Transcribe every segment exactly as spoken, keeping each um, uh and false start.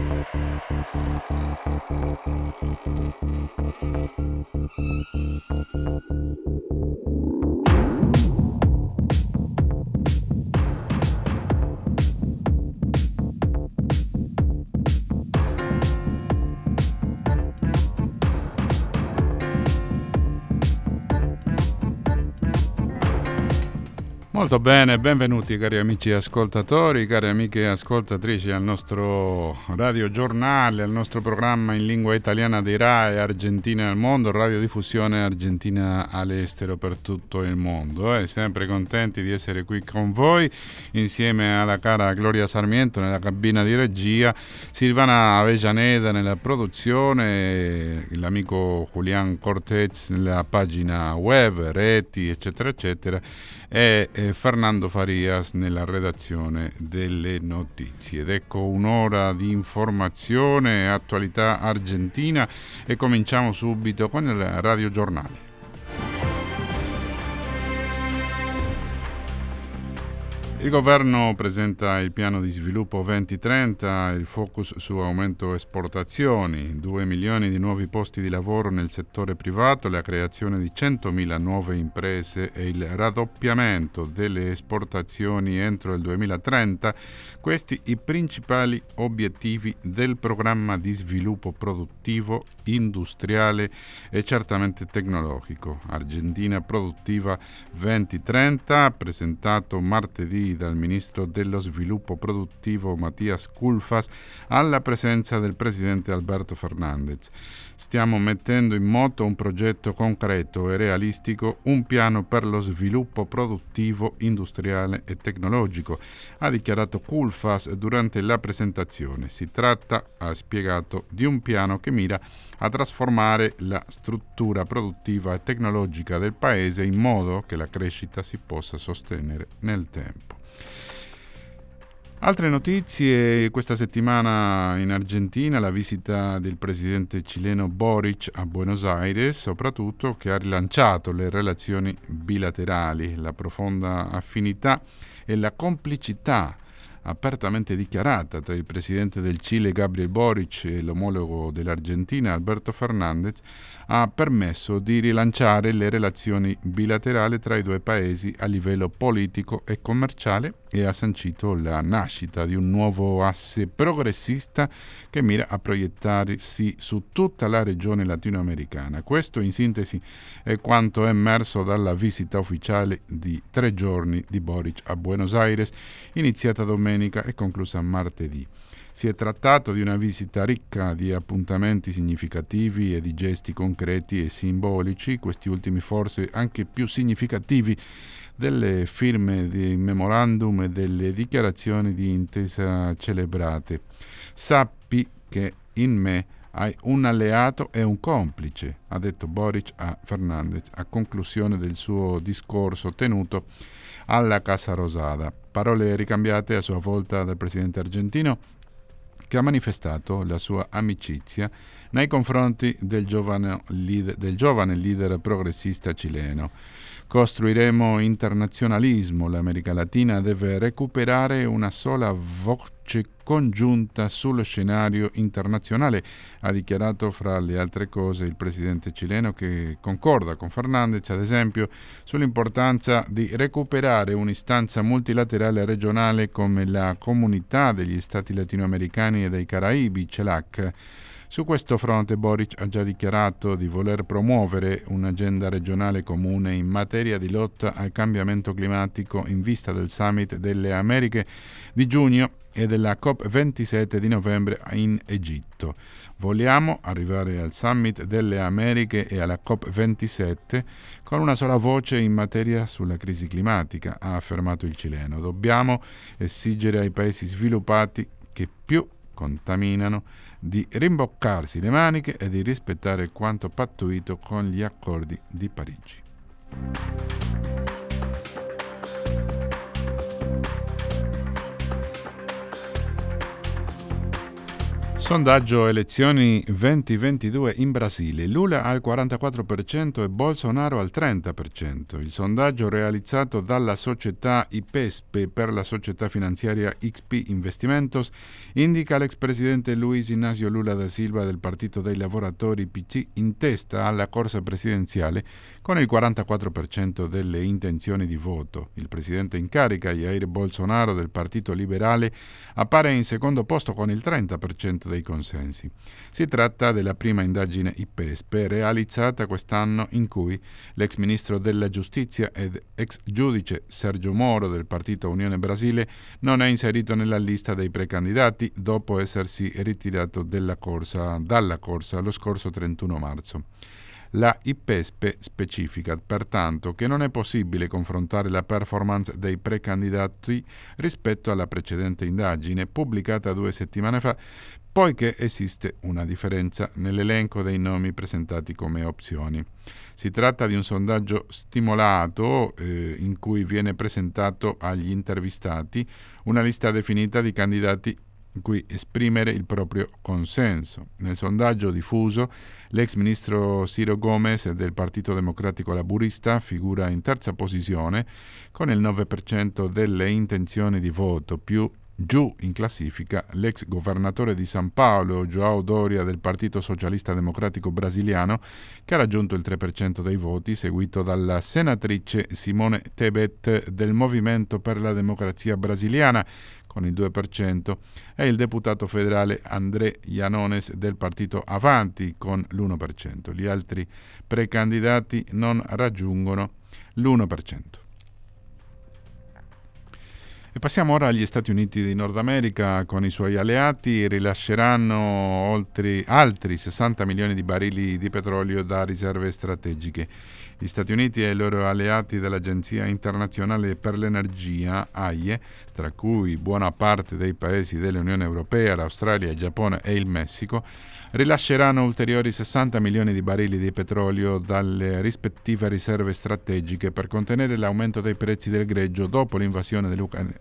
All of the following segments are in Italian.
Molto bene, benvenuti cari amici ascoltatori, cari amiche ascoltatrici al nostro radiogiornale, al nostro programma in lingua italiana di RAI Argentina al mondo, radiodiffusione argentina all'estero per tutto il mondo. E sempre contenti di essere qui con voi insieme alla cara Gloria Sarmiento nella cabina di regia, Silvana Avellaneda nella produzione, l'amico Julián Cortez nella pagina web, reti eccetera eccetera, e eh, Fernando Farias nella redazione delle notizie. Ed ecco un'ora di informazione e attualità argentina e cominciamo subito con il radiogiornale. Il governo presenta il piano di sviluppo duemilatrenta, il focus su aumento esportazioni, due milioni di nuovi posti di lavoro nel settore privato, la creazione di centomila nuove imprese e il raddoppiamento delle esportazioni entro il duemilatrenta. Questi i principali obiettivi del programma di sviluppo produttivo, industriale e certamente tecnologico. Argentina Produttiva duemilatrenta, presentato martedì dal ministro dello sviluppo produttivo Matías Culfas alla presenza del presidente Alberto Fernández. Stiamo mettendo in moto un progetto concreto e realistico, un piano per lo sviluppo produttivo, industriale e tecnologico, ha dichiarato Culfas durante la presentazione. Si tratta, ha spiegato, di un piano che mira a trasformare la struttura produttiva e tecnologica del paese in modo che la crescita si possa sostenere nel tempo. Altre notizie: questa settimana in Argentina la visita del presidente cileno Boric a Buenos Aires, soprattutto, che ha rilanciato le relazioni bilaterali, la profonda affinità e la complicità apertamente dichiarata tra il presidente del Cile Gabriel Boric e l'omologo dell'Argentina Alberto Fernández ha permesso di rilanciare le relazioni bilaterali tra i due paesi a livello politico e commerciale e ha sancito la nascita di un nuovo asse progressista che mira a proiettarsi su tutta la regione latinoamericana. Questo in sintesi è quanto è emerso dalla visita ufficiale di tre giorni di Boric a Buenos Aires, iniziata domenica e conclusa martedì. Si è trattato di una visita ricca di appuntamenti significativi e di gesti concreti e simbolici, questi ultimi forse anche più significativi delle firme di memorandum e delle dichiarazioni di intesa celebrate. Sappi che in me hai un alleato e un complice, ha detto Boric a Fernández a conclusione del suo discorso tenuto alla Casa Rosada. Parole ricambiate a sua volta dal presidente argentino, che ha manifestato la sua amicizia nei confronti del giovane leader, del giovane leader progressista cileno. Costruiremo internazionalismo, l'America Latina deve recuperare una sola voce congiunta sullo scenario internazionale, ha dichiarato fra le altre cose il presidente cileno, che concorda con Fernández ad esempio sull'importanza di recuperare un'istanza multilaterale regionale come la Comunità degli Stati Latinoamericani e dei Caraibi, CELAC. Su questo fronte Boric ha già dichiarato di voler promuovere un'agenda regionale comune in materia di lotta al cambiamento climatico in vista del Summit delle Americhe di giugno e della COP ventisette di novembre in Egitto. Vogliamo arrivare al Summit delle Americhe e alla COP ventisette con una sola voce in materia sulla crisi climatica, ha affermato il cileno. Dobbiamo esigere ai paesi sviluppati che più contaminano di rimboccarsi le maniche e di rispettare quanto pattuito con gli accordi di Parigi. Sondaggio elezioni duemilaventidue in Brasile. Lula al quarantaquattro per cento e Bolsonaro al trenta per cento. Il sondaggio realizzato dalla società IPESP per la società finanziaria X P Investimentos indica l'ex presidente Luiz Inácio Lula da Silva del Partito dei Lavoratori P C in testa alla corsa presidenziale con il quarantaquattro per cento delle intenzioni di voto. Il presidente in carica, Jair Bolsonaro del Partito Liberale, appare in secondo posto con il trenta per cento dei consensi. Si tratta della prima indagine IPESP realizzata quest'anno in cui l'ex ministro della giustizia ed ex giudice Sergio Moro del partito Unione Brasile non è inserito nella lista dei precandidati dopo essersi ritirato della corsa, dalla corsa lo scorso trentuno marzo. La IPESP specifica pertanto che non è possibile confrontare la performance dei precandidati rispetto alla precedente indagine pubblicata due settimane fa, poiché esiste una differenza nell'elenco dei nomi presentati come opzioni. Si tratta di un sondaggio stimolato eh, in cui viene presentato agli intervistati una lista definita di candidati in cui esprimere il proprio consenso. Nel sondaggio diffuso, l'ex ministro Ciro Gomes del Partito Democratico Laburista figura in terza posizione con il nove per cento delle intenzioni di voto, più giù in classifica l'ex governatore di San Paolo, João Doria del Partito Socialista Democratico Brasiliano, che ha raggiunto il tre per cento dei voti, seguito dalla senatrice Simone Tebet del Movimento per la Democrazia Brasiliana, con il due per cento, e il deputato federale André Janones del partito Avanti con l'uno per cento. Gli altri precandidati non raggiungono l'uno per cento. E passiamo ora agli Stati Uniti di Nord America. Con i suoi alleati rilasceranno oltre altri sessanta milioni di barili di petrolio da riserve strategiche. Gli Stati Uniti e i loro alleati dell'Agenzia Internazionale per l'Energia, A I E, tra cui buona parte dei paesi dell'Unione Europea, l'Australia, il Giappone e il Messico, rilasceranno ulteriori sessanta milioni di barili di petrolio dalle rispettive riserve strategiche per contenere l'aumento dei prezzi del greggio dopo l'invasione dell'Ucraina.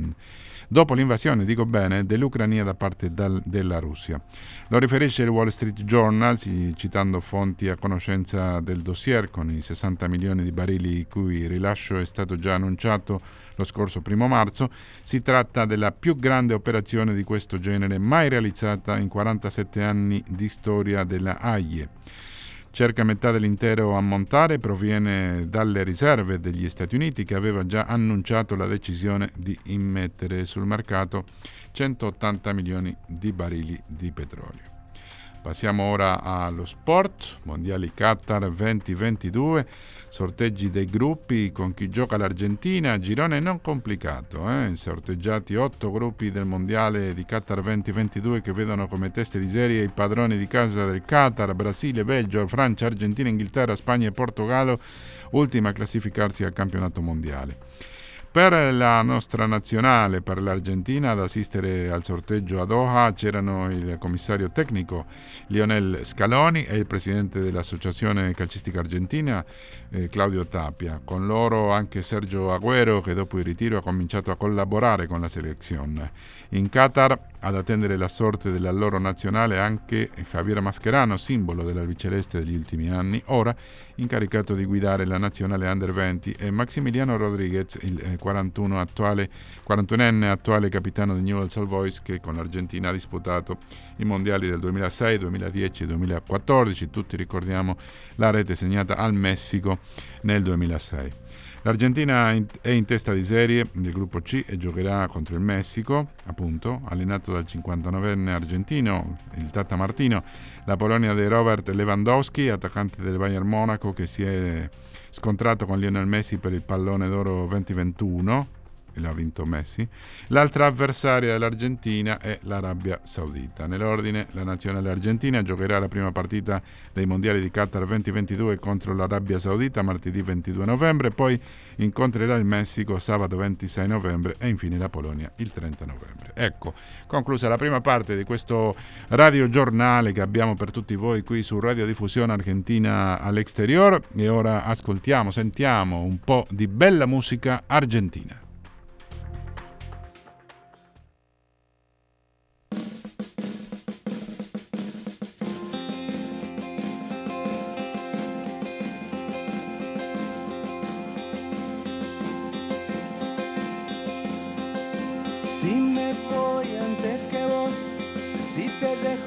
Dopo l'invasione, dico bene, dell'Ucraina da parte dal, della Russia. Lo riferisce il Wall Street Journal, citando fonti a conoscenza del dossier, con i sessanta milioni di barili il cui rilascio è stato già annunciato lo scorso primo marzo. Si tratta della più grande operazione di questo genere mai realizzata in quarantasette anni di storia della A I E. Circa metà dell'intero ammontare proviene dalle riserve degli Stati Uniti, che aveva già annunciato la decisione di immettere sul mercato centottanta milioni di barili di petrolio. Passiamo ora allo sport. Mondiali Qatar duemilaventidue, sorteggi dei gruppi con chi gioca l'Argentina, girone non complicato, eh? sorteggiati otto gruppi del Mondiale di Qatar duemilaventidue che vedono come teste di serie i padroni di casa del Qatar, Brasile, Belgio, Francia, Argentina, Inghilterra, Spagna e Portogallo, ultima a classificarsi al campionato mondiale. Per la nostra nazionale, per l'Argentina, ad assistere al sorteggio a Doha c'erano il commissario tecnico Lionel Scaloni e il presidente dell'Associazione Calcistica Argentina eh, Claudio Tapia. Con loro anche Sergio Agüero, che dopo il ritiro ha cominciato a collaborare con la selezione. In Qatar, ad attendere la sorte della loro nazionale, anche Javier Mascherano, simbolo dell'albiceleste degli ultimi anni, ora incaricato di guidare la nazionale Under venti, e Maximiliano Rodriguez, il quarantuno attuale, quarantunenne attuale capitano di Newell's Old Boys, che con l'Argentina ha disputato i mondiali del duemilasei, duemiladieci e duemilaquattordici. Tutti ricordiamo la rete segnata al Messico nel duemilasei. L'Argentina è in testa di serie del gruppo C e giocherà contro il Messico, appunto, allenato dal cinquantanovenne argentino, il Tata Martino. La Polonia di Robert Lewandowski, attaccante del Bayern Monaco, che si è scontrato con Lionel Messi per il pallone d'oro duemilaventuno, e l'ha vinto Messi. L'altra avversaria dell'Argentina è l'Arabia Saudita. Nell'ordine, la nazionale argentina giocherà la prima partita dei mondiali di Qatar duemilaventidue contro l'Arabia Saudita martedì ventidue novembre, poi incontrerà il Messico sabato ventisei novembre e infine la Polonia il trenta novembre. Ecco, conclusa la prima parte di questo radiogiornale che abbiamo per tutti voi qui su Radiodiffusione Argentina all'Exterior, e ora ascoltiamo, sentiamo un po' di bella musica argentina.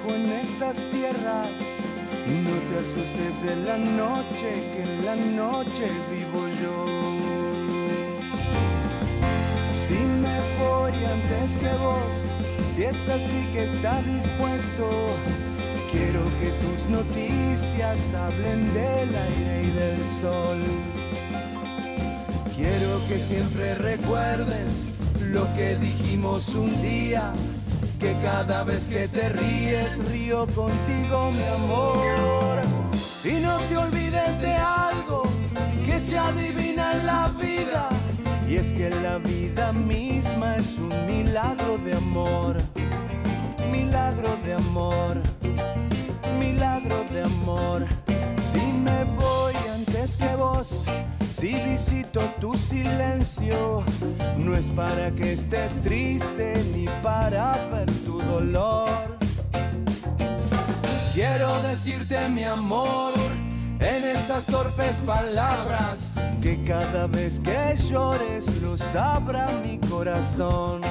en estas tierras. No te asustes de la noche, que en la noche vivo yo. Si me voy antes que vos, si es así que estás dispuesto, quiero que tus noticias hablen del aire y del sol. Quiero que siempre recuerdes lo que dijimos un día, que cada vez que te ríes, río contigo, mi amor. Y no te olvides de algo que se adivina en la vida, y es que la vida misma es un milagro de amor. Milagro de amor, milagro de amor. Si me voy antes que vos, si visito tu silencio, no es para que estés triste ni para ver tu dolor. Quiero decirte, mi amor, en estas torpes palabras, que cada vez que llores lo sabrá mi corazón.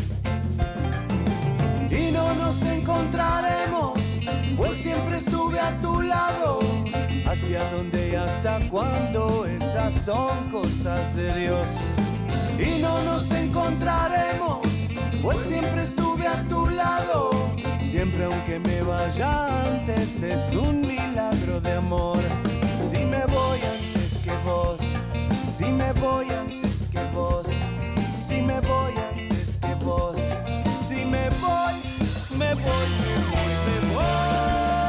Y no nos encontraremos, pues siempre estuve a tu lado. Hacia dónde y hasta cuándo, esas son cosas de Dios. Y no nos encontraremos, pues siempre estuve a tu lado. Siempre aunque me vaya antes, es un milagro de amor. Si me voy antes que vos, si me voy antes que vos, si me voy antes que vos, si me voy, me voy, me voy, me voy.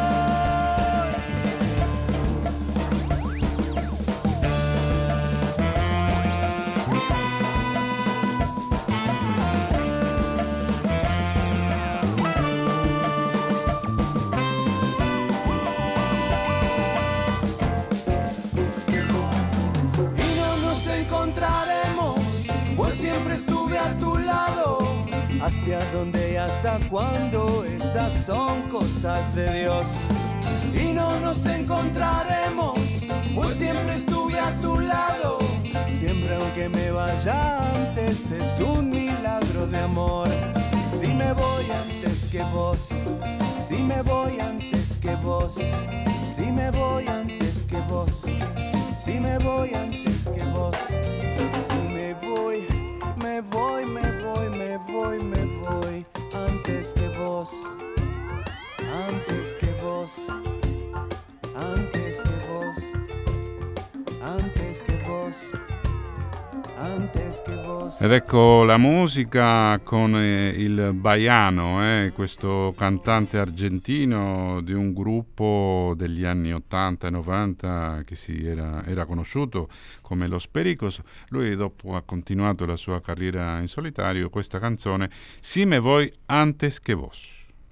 Hacia dónde y hasta cuándo, esas son cosas de Dios. Y no nos encontraremos, pues siempre estuve a tu lado. Siempre aunque me vaya antes, es un milagro de amor. Si me voy antes que vos, si me voy antes que vos, si me voy antes que vos, si me voy antes que vos, si me voy, me voy, me voy, me voy, me voy antes que vos, antes que vos, antes que vos, antes que vos, antes che vos. Ed ecco la musica con eh, il Baiano, eh, questo cantante argentino di un gruppo degli anni ottanta e novanta che si era, era conosciuto come Los Pericos. Lui dopo ha continuato la sua carriera in solitario. Questa canzone, Si me voy antes que vos.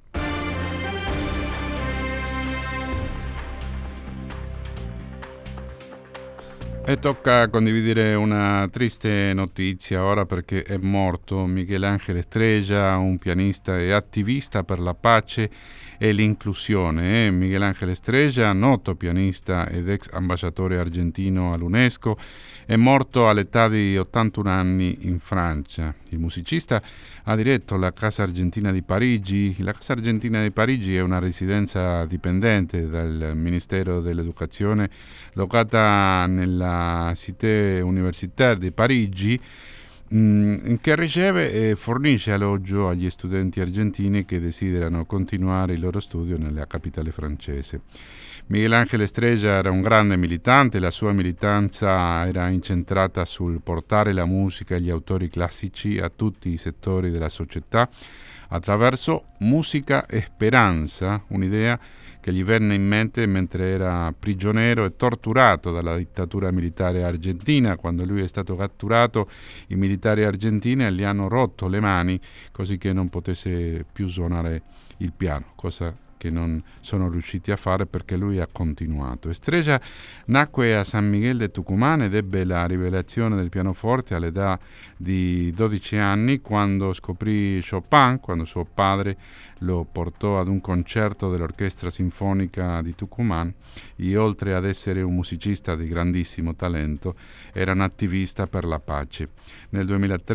E tocca condividere una triste notizia ora, perché è morto Miguel Ángel Estrella, un pianista e attivista per la pace e l'inclusione. Eh? Miguel Ángel Estrella, noto pianista ed ex ambasciatore argentino all'UNESCO, è morto all'età di ottantuno anni in Francia. Il musicista ha diretto la Casa Argentina di Parigi. La Casa Argentina di Parigi è una residenza dipendente dal Ministero dell'Educazione, locata nella Cité Universitaire di Parigi, mh, che riceve e fornisce alloggio agli studenti argentini che desiderano continuare il loro studio nella capitale francese. Miguel Ángel Estrella era un grande militante, la sua militanza era incentrata sul portare la musica e gli autori classici a tutti i settori della società attraverso musica e speranza, un'idea che gli venne in mente mentre era prigioniero e torturato dalla dittatura militare argentina. Quando lui è stato catturato, i militari argentini gli hanno rotto le mani così che non potesse più suonare il piano, cosa che non sono riusciti a fare perché lui ha continuato. Estrella nacque a San Miguel de Tucumán ed ebbe la rivelazione del pianoforte all'età di dodici anni, quando scoprì Chopin, quando suo padre lo portò ad un concerto dell'Orchestra Sinfonica di Tucumán, e oltre ad essere un musicista di grandissimo talento era un attivista per la pace. Nel duemilatré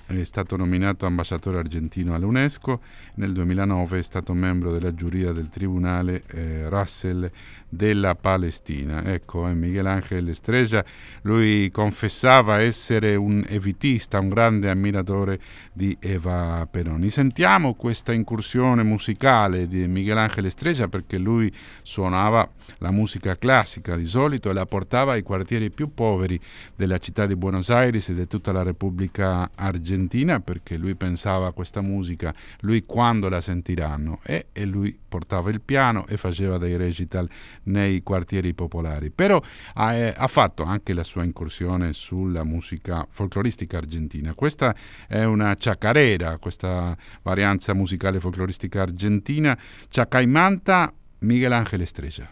è stato nominato ambasciatore argentino all'UNESCO, nel duemilanove è stato membro della giuria del Tribunale eh, Russell della Palestina. Ecco, eh, Miguel Ángel Estrella, lui confessava essere un evitista, un grande ammiratore di Eva Perón. Sentiamo questa incursione musicale di Miguel Ángel Estrella, perché lui suonava la musica classica di solito e la portava ai quartieri più poveri della città di Buenos Aires e di tutta la Repubblica Argentina, perché lui pensava a questa musica, lui quando la sentiranno, e, e lui portava il piano e faceva dei recital nei quartieri popolari. Però ha, eh, ha fatto anche la sua incursione sulla musica folcloristica argentina. Questa è una chacarera, questa varianza musicale folcloristica argentina, Chacaimanta, Miguel Ángel Estrella.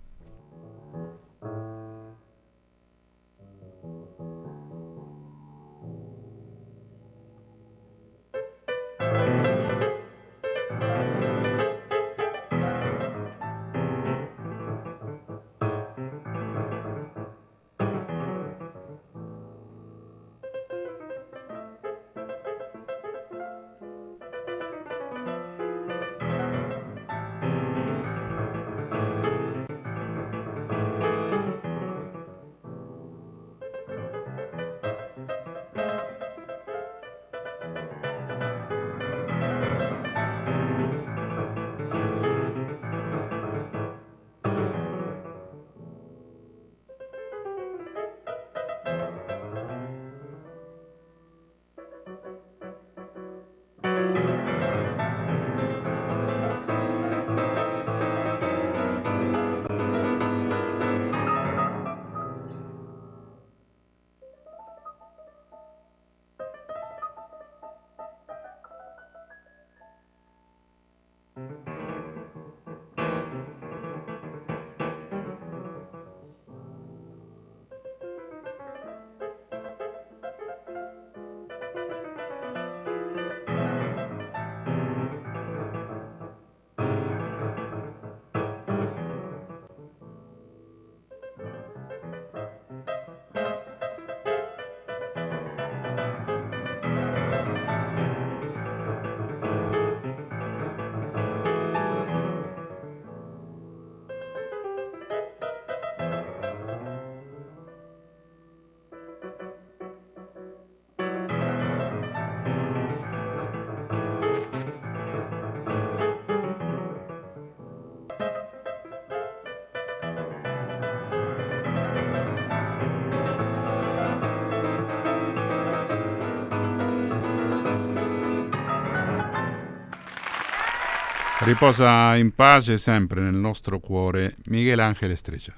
Riposa in pace sempre nel nostro cuore Miguel Ángel Estrella.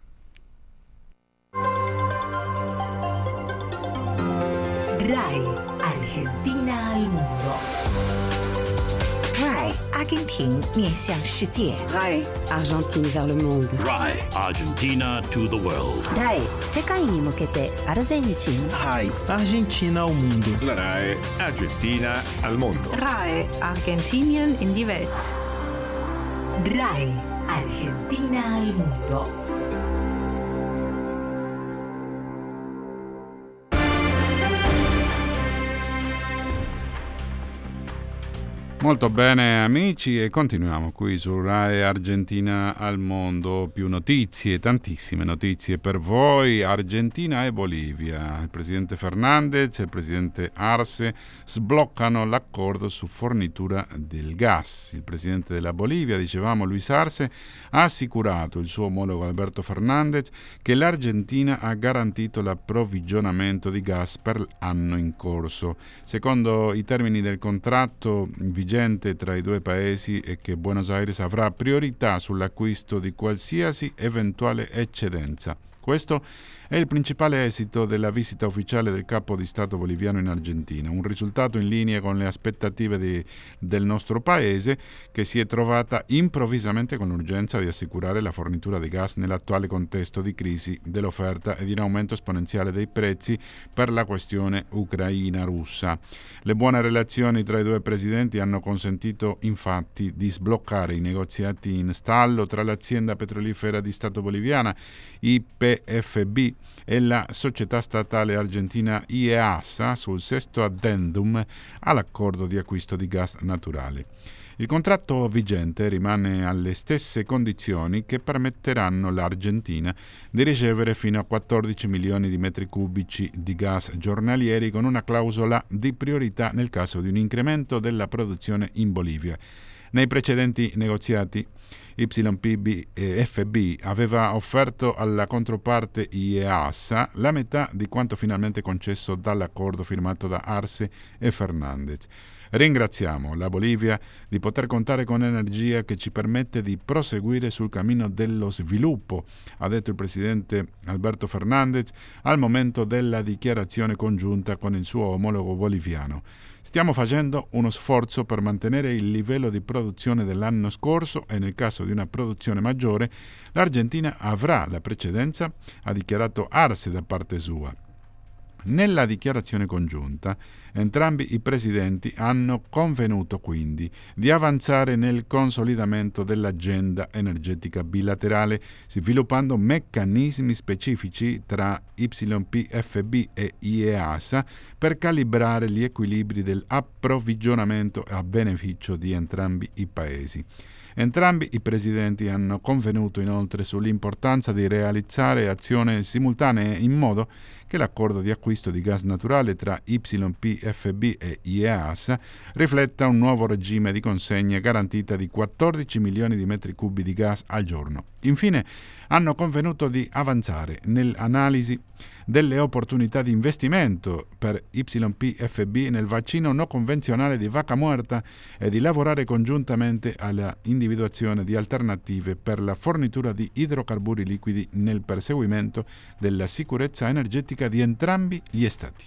RAI Argentina al mondo. RAI 阿根廷面向世界。 RAI Argentine vers le monde. RAI Argentina to the world. RAI 世界に向けてアルゼンチン。 RAI Argentina al mondo. La RAI Argentina al mondo. RAI Argentinien in die Welt. RAI Argentina al mondo. Molto bene amici, e continuiamo qui su RAI Argentina al mondo. Più notizie, tantissime notizie per voi. Argentina e Bolivia. Il presidente Fernández e il presidente Arce sbloccano l'accordo su fornitura del gas. Il presidente della Bolivia, dicevamo Luis Arce, ha assicurato il suo omologo Alberto Fernández che l'Argentina ha garantito l'approvvigionamento di gas per l'anno in corso. Secondo i termini del contratto vigente tra i due paesi è che Buenos Aires avrà priorità sull'acquisto di qualsiasi eventuale eccedenza. Questo è il principale esito della visita ufficiale del capo di Stato boliviano in Argentina, un risultato in linea con le aspettative di, del nostro paese, che si è trovata improvvisamente con l'urgenza di assicurare la fornitura di gas nell'attuale contesto di crisi dell'offerta e di un aumento esponenziale dei prezzi per la questione ucraina-russa. Le buone relazioni tra i due presidenti hanno consentito infatti di sbloccare i negoziati in stallo tra l'azienda petrolifera di Stato boliviana I P F B e la società statale argentina IEASA sul sesto addendum all'accordo di acquisto di gas naturale. Il contratto vigente rimane alle stesse condizioni che permetteranno all'Argentina di ricevere fino a quattordici milioni di metri cubici di gas giornalieri, con una clausola di priorità nel caso di un incremento della produzione in Bolivia. Nei precedenti negoziati Y P B F B aveva offerto alla controparte IEASA la metà di quanto finalmente concesso dall'accordo firmato da Arce e Fernández. Ringraziamo la Bolivia di poter contare con energia che ci permette di proseguire sul cammino dello sviluppo, ha detto il presidente Alberto Fernández al momento della dichiarazione congiunta con il suo omologo boliviano. Stiamo facendo uno sforzo per mantenere il livello di produzione dell'anno scorso e nel caso di una produzione maggiore l'Argentina avrà la precedenza, ha dichiarato Arce da parte sua. Nella dichiarazione congiunta, entrambi i presidenti hanno convenuto quindi di avanzare nel consolidamento dell'agenda energetica bilaterale, sviluppando meccanismi specifici tra Y P F B e IEASA per calibrare gli equilibri dell'approvvigionamento a beneficio di entrambi i paesi. Entrambi i presidenti hanno convenuto inoltre sull'importanza di realizzare azioni simultanee in modo che l'accordo di acquisto di gas naturale tra Y P F B e IEASA rifletta un nuovo regime di consegna garantita di quattordici milioni di metri cubi di gas al giorno. Infine, hanno convenuto di avanzare nell'analisi delle opportunità di investimento per Y P F B nel vaccino non convenzionale di Vaca Muerta e di lavorare congiuntamente alla individuazione di alternative per la fornitura di idrocarburi liquidi nel perseguimento della sicurezza energetica di entrambi gli Stati.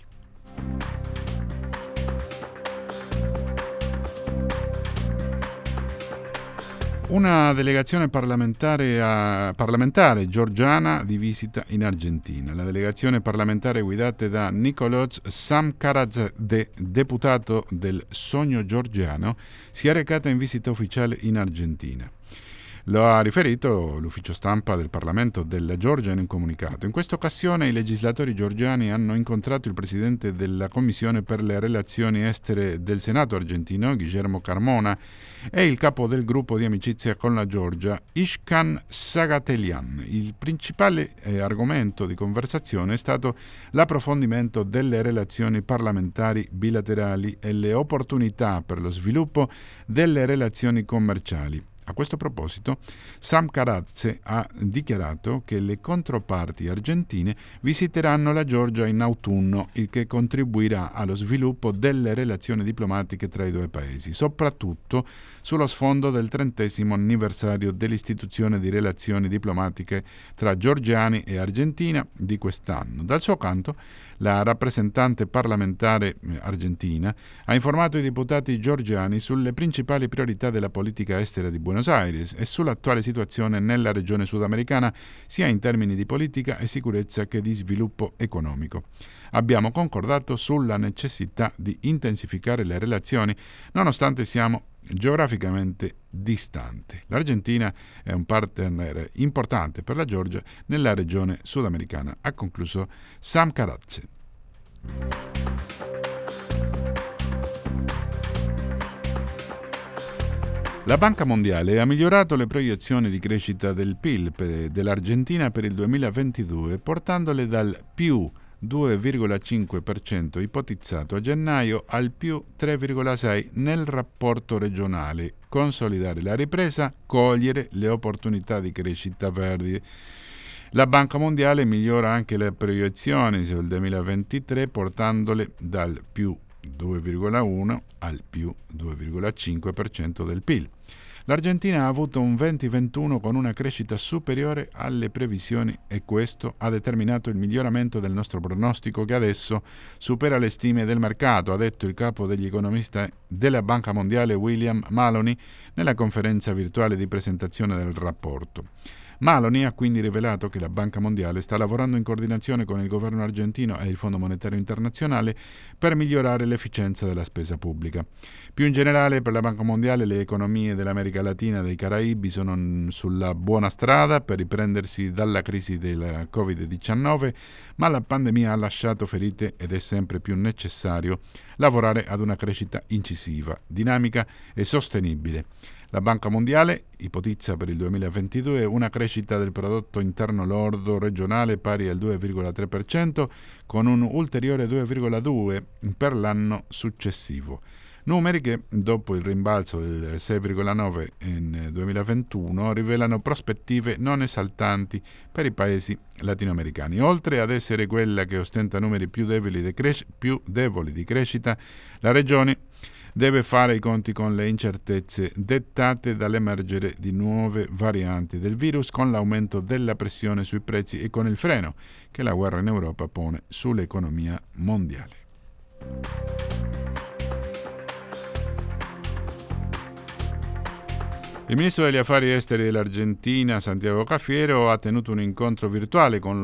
Una delegazione parlamentare, a, parlamentare georgiana di visita in Argentina. La delegazione parlamentare guidata da Nicolás Samkaradze, deputato del Sogno Georgiano, si è recata in visita ufficiale in Argentina. Lo ha riferito l'ufficio stampa del Parlamento della Georgia in un comunicato. In questa occasione i legislatori georgiani hanno incontrato il presidente della Commissione per le relazioni estere del Senato argentino, Guillermo Carmona, e il capo del gruppo di amicizia con la Georgia, Ishkan Sagatelian. Il principale eh, argomento di conversazione è stato l'approfondimento delle relazioni parlamentari bilaterali e le opportunità per lo sviluppo delle relazioni commerciali. A questo proposito, Samkaradze ha dichiarato che le controparti argentine visiteranno la Georgia in autunno, il che contribuirà allo sviluppo delle relazioni diplomatiche tra i due paesi, soprattutto sullo sfondo del trentesimo anniversario dell'istituzione di relazioni diplomatiche tra georgiani e Argentina di quest'anno. Dal suo canto, la rappresentante parlamentare argentina ha informato i deputati georgiani sulle principali priorità della politica estera di Buenos Aires e sull'attuale situazione nella regione sudamericana, sia in termini di politica e sicurezza che di sviluppo economico. Abbiamo concordato sulla necessità di intensificare le relazioni, nonostante siamo geograficamente distante. L'Argentina è un partner importante per la Georgia nella regione sudamericana, ha concluso Samkaradze. La Banca Mondiale ha migliorato le proiezioni di crescita del P I L dell'Argentina per il duemilaventidue, portandole dal più due virgola cinque per cento ipotizzato a gennaio al più tre virgola sei per cento nel rapporto regionale. Consolidare la ripresa, cogliere le opportunità di crescita verdi. La Banca Mondiale migliora anche le proiezioni sul duemilaventitré, portandole dal più due virgola uno al più due virgola cinque per cento del P I L. L'Argentina ha avuto un venti ventuno con una crescita superiore alle previsioni e questo ha determinato il miglioramento del nostro pronostico, che adesso supera le stime del mercato, ha detto il capo degli economisti della Banca Mondiale William Maloney nella conferenza virtuale di presentazione del rapporto. Maloni ha quindi rivelato che la Banca Mondiale sta lavorando in coordinazione con il governo argentino e il Fondo Monetario Internazionale per migliorare l'efficienza della spesa pubblica. Più in generale, per la Banca Mondiale le economie dell'America Latina e dei Caraibi sono sulla buona strada per riprendersi dalla crisi del covid diciannove, ma la pandemia ha lasciato ferite ed è sempre più necessario lavorare ad una crescita incisiva, dinamica e sostenibile. La Banca Mondiale ipotizza per il duemilaventidue una crescita del prodotto interno lordo regionale pari al due virgola tre per cento con un ulteriore due virgola due per cento per l'anno successivo. Numeri che, dopo il rimbalzo del sei virgola nove per cento in duemilaventuno, rivelano prospettive non esaltanti per i paesi latinoamericani. Oltre ad essere quella che ostenta numeri più deboli di, cres- più deboli di crescita, la regione deve fare i conti con le incertezze dettate dall'emergere di nuove varianti del virus, con l'aumento della pressione sui prezzi e con il freno che la guerra in Europa pone sull'economia mondiale. Il ministro degli affari esteri dell'Argentina, Santiago Cafiero, ha tenuto un incontro virtuale con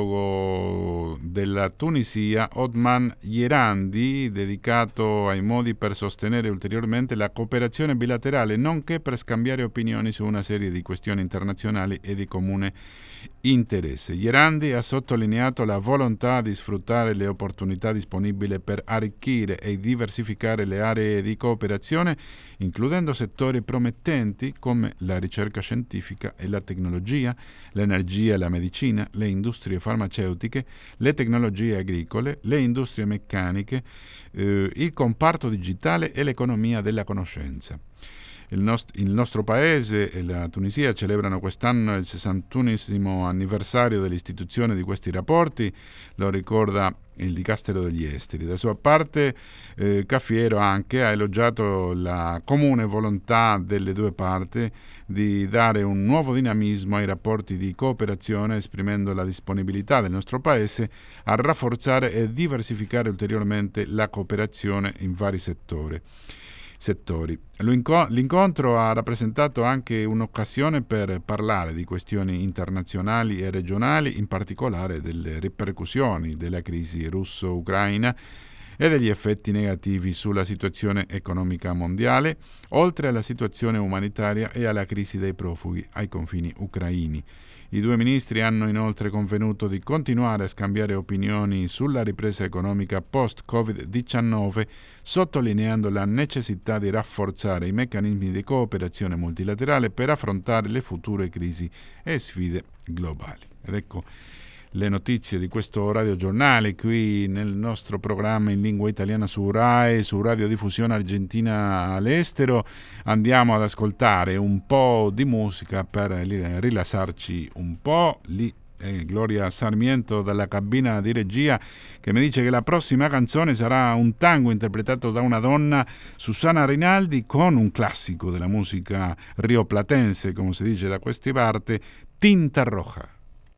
l'omologo della Tunisia, Othman Jerandi, dedicato ai modi per sostenere ulteriormente la cooperazione bilaterale, nonché per scambiare opinioni su una serie di questioni internazionali e di comune interesse. Jerandi ha sottolineato la volontà di sfruttare le opportunità disponibili per arricchire e diversificare le aree di cooperazione, includendo settori promettenti come la ricerca scientifica e la tecnologia, l'energia e la medicina, le industrie farmaceutiche, le tecnologie agricole, le industrie meccaniche, eh, il comparto digitale e l'economia della conoscenza. Il, nost- il nostro paese e la Tunisia celebrano quest'anno il sessantunesimo anniversario dell'istituzione di questi rapporti, lo ricorda il Dicastero degli Esteri. Da sua parte eh, Cafiero anche ha elogiato la comune volontà delle due parti di dare un nuovo dinamismo ai rapporti di cooperazione, esprimendo la disponibilità del nostro paese a rafforzare e diversificare ulteriormente la cooperazione in vari settori. settori. L'incontro ha rappresentato anche un'occasione per parlare di questioni internazionali e regionali, in particolare delle ripercussioni della crisi russo-ucraina e degli effetti negativi sulla situazione economica mondiale, oltre alla situazione umanitaria e alla crisi dei profughi ai confini ucraini. I due ministri hanno inoltre convenuto di continuare a scambiare opinioni sulla ripresa economica post-covid diciannove, sottolineando la necessità di rafforzare i meccanismi di cooperazione multilaterale per affrontare le future crisi e sfide globali. Ed ecco le notizie di questo radiogiornale qui nel nostro programma in lingua italiana su RAI, su Radiodiffusione Argentina all'estero. Andiamo ad ascoltare un po' di musica per rilassarci un po'. Lì è Gloria Sarmiento dalla cabina di regia che mi dice che la prossima canzone sarà un tango interpretato da una donna, Susana Rinaldi, con un classico della musica rioplatense, come si dice da queste parti, Tinta Roja.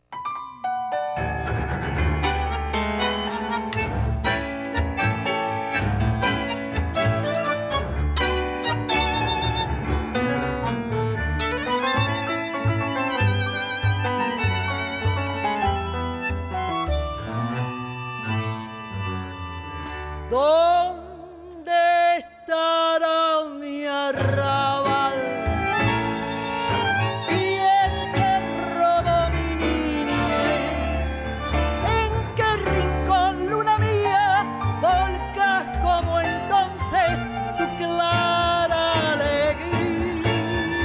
¿Dónde estará mi arrabal? Y el cerro de mi niñez, ¿en qué rincón, luna mía, volcas como entonces tu clara alegría?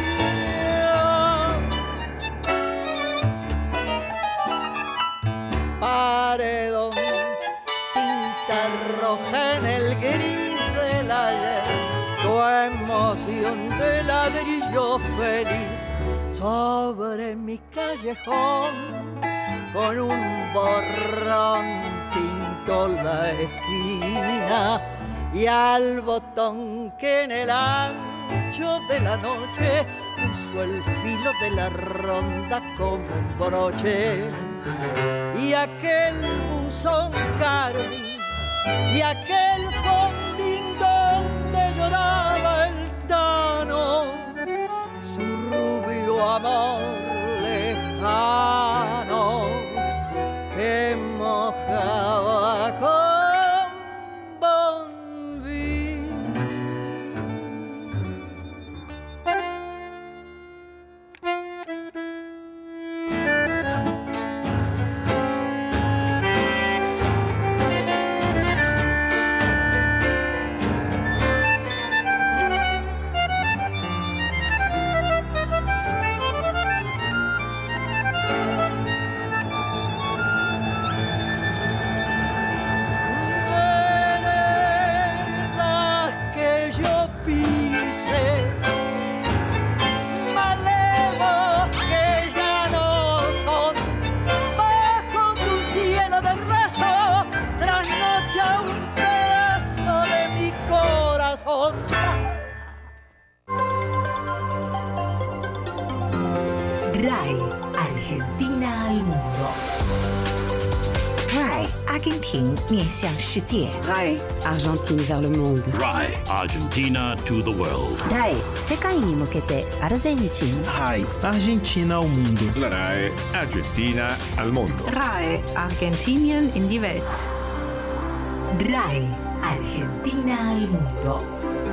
Paredón, tinta roja en el gris del ayer, tu emoción de ladrillo feliz sobre mi callejón, con un borrón pinto la esquina y al botón que en el ancho de la noche puso el filo de la ronda como un broche. Y aquel buzón carmín y aquel fondín donde lloraba el Tano, su rubio amor lejano RAI Argentina al mondo. RAI 阿根廷面向世界。 RAI Argentine vers le monde. RAI Argentina to the world. RAI 世界に向けてアルゼンチン。 RAI Argentina al mondo. La RAI Argentina al mondo. RAI Argentinien in die Welt. RAI Argentina al mondo.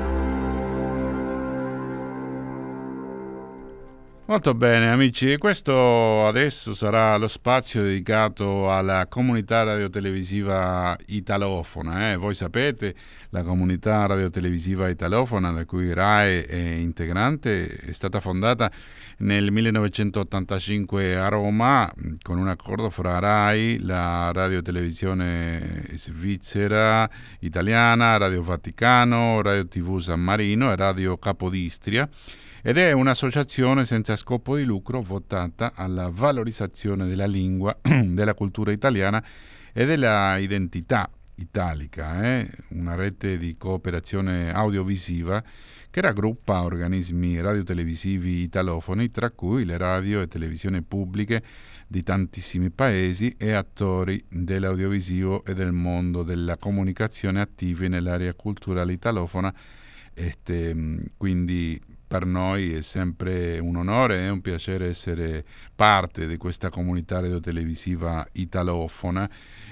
Molto bene amici, e questo adesso sarà lo spazio dedicato alla comunità radiotelevisiva italofona. Eh? Voi sapete, la comunità radiotelevisiva italofona, da cui RAI è integrante, è stata fondata nel millenovecentottantacinque a Roma con un accordo fra RAI, la radiotelevisione svizzera, italiana, Radio Vaticano, Radio tivù San Marino e Radio Capodistria, ed è un'associazione senza scopo di lucro votata alla valorizzazione della lingua, della cultura italiana e della identità italica, eh? Una rete di cooperazione audiovisiva che raggruppa organismi radiotelevisivi italofoni, tra cui le radio e televisioni pubbliche di tantissimi paesi e attori dell'audiovisivo e del mondo della comunicazione attivi nell'area culturale italofona. Este, quindi per noi è sempre un onore e un piacere essere parte di questa comunità radiotelevisiva italofona.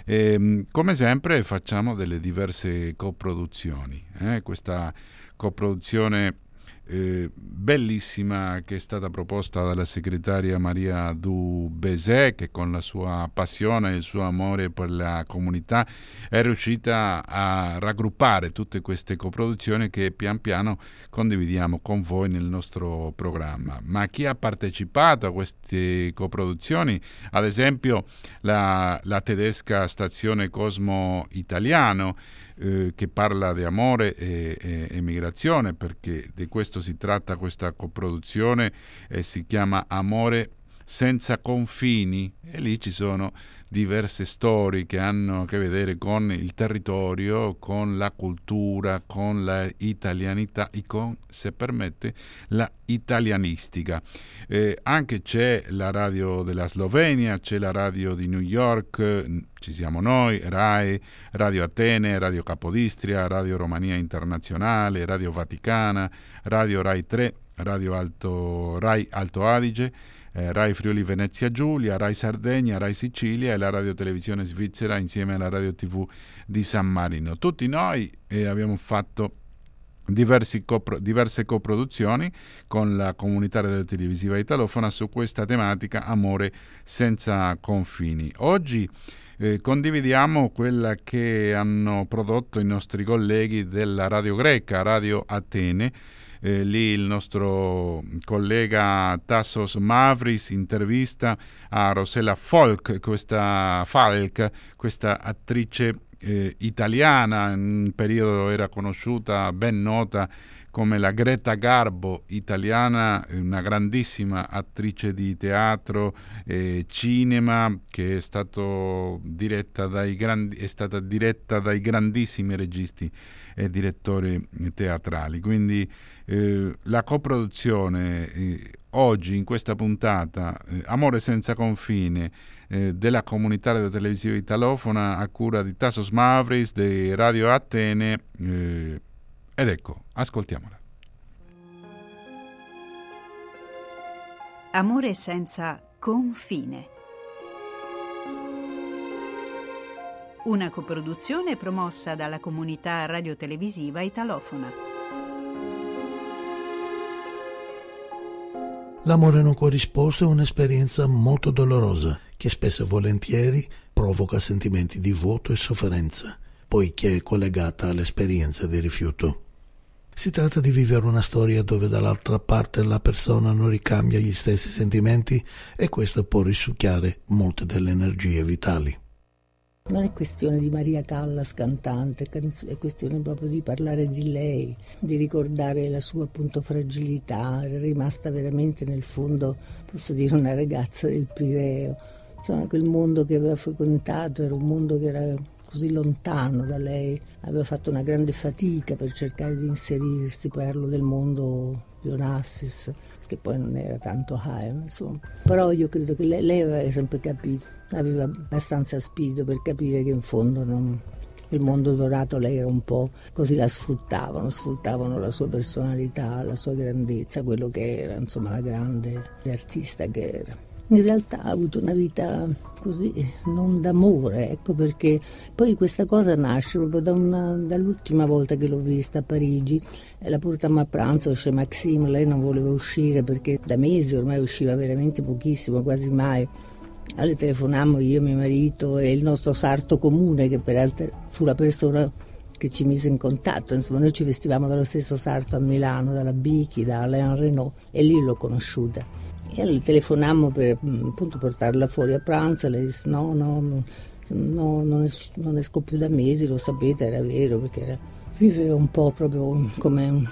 E, come sempre facciamo delle diverse coproduzioni. Eh? Questa coproduzione eh, bellissima che è stata proposta dalla segretaria Maria Du Bessè, che con la sua passione e il suo amore per la comunità è riuscita a raggruppare tutte queste coproduzioni che pian piano condividiamo con voi nel nostro programma. Ma chi ha partecipato a queste coproduzioni? Ad esempio la, la tedesca stazione Cosmo Italiano, eh, che parla di amore e, e, e migrazione, perché di questo si tratta questa coproduzione, e si chiama Amore senza confini, e lì ci sono diverse storie che hanno a che vedere con il territorio, con la cultura, con la italianità e con, se permette, la italianistica. Eh, anche c'è la radio della Slovenia, c'è la radio di New York, ci siamo noi, RAI, Radio Atene, Radio Capodistria, Radio Romania Internazionale, Radio Vaticana, Radio RAI tre, Radio Alto, RAI Alto Adige, Eh, RAI Friuli Venezia Giulia, RAI Sardegna, RAI Sicilia e la Radio Televisione Svizzera insieme alla Radio tivù di San Marino. Tutti noi eh, abbiamo fatto diversi copro- diverse coproduzioni con la comunità radiotelevisiva italofona su questa tematica Amore senza confini. Oggi eh, condividiamo quella che hanno prodotto i nostri colleghi della radio greca, Radio Atene. Eh, lì il nostro collega Tassos Mavris intervista a Rosella Falk, questa Falk, questa attrice eh, italiana, in un periodo era conosciuta, ben nota come la Greta Garbo italiana, una grandissima attrice di teatro e cinema che è, stato diretta dai grandi, è stata diretta dai grandissimi registi e direttori teatrali. Quindi eh, la coproduzione eh, oggi in questa puntata eh, Amore senza confine eh, della comunità radiotelevisiva italofona a cura di Tassos Mavris di Radio Atene, eh, ed ecco, ascoltiamola. Amore senza confine. Una coproduzione promossa dalla comunità radiotelevisiva italofona. L'amore non corrisposto è un'esperienza molto dolorosa che spesso e volentieri provoca sentimenti di vuoto e sofferenza, poiché è collegata all'esperienza di rifiuto. Si tratta di vivere una storia dove dall'altra parte la persona non ricambia gli stessi sentimenti e questo può risucchiare molte delle energie vitali. Non è questione di Maria Callas cantante, è questione proprio di parlare di lei, di ricordare la sua appunto fragilità, era rimasta veramente nel fondo, posso dire, una ragazza del Pireo. Insomma, quel mondo che aveva frequentato era un mondo che era così lontano da lei, aveva fatto una grande fatica per cercare di inserirsi. Parlo del mondo di Onassis, che poi non era tanto high, insomma. Però io credo che lei, lei aveva sempre capito, aveva abbastanza spirito per capire che in fondo non, il mondo dorato lei era un po' così, la sfruttavano, sfruttavano la sua personalità, la sua grandezza, quello che era, insomma, la grande artista che era. In realtà ha avuto una vita così, non d'amore, ecco perché poi questa cosa nasce proprio da una, dall'ultima volta che l'ho vista a Parigi. La portammo a pranzo chez Maxime, lei non voleva uscire perché da mesi ormai usciva veramente pochissimo, quasi mai. Allora telefonammo io, mio marito e il nostro sarto comune, che peraltro fu la persona che ci mise in contatto. Insomma, noi ci vestivamo dallo stesso sarto a Milano, dalla Bichi, da Alain Renault, e lì l'ho conosciuta. E allora telefonammo per appunto portarla fuori a pranzo, lei disse no, no, no, no non, es- non esco più da mesi, lo sapete, era vero, perché era, viveva un po' proprio come